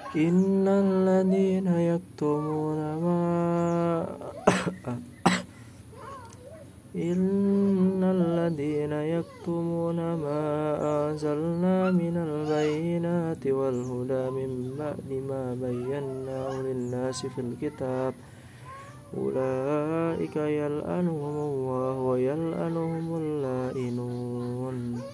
Innalladzina yaktumuna ma Innalladzina yaktumuna ma anzalna minal bayyinati wal huda min ba'di ma bayyanahu lin-nasi fil kitab ulaika yal'anuhumullahu wa yal'anuhumul la'inun.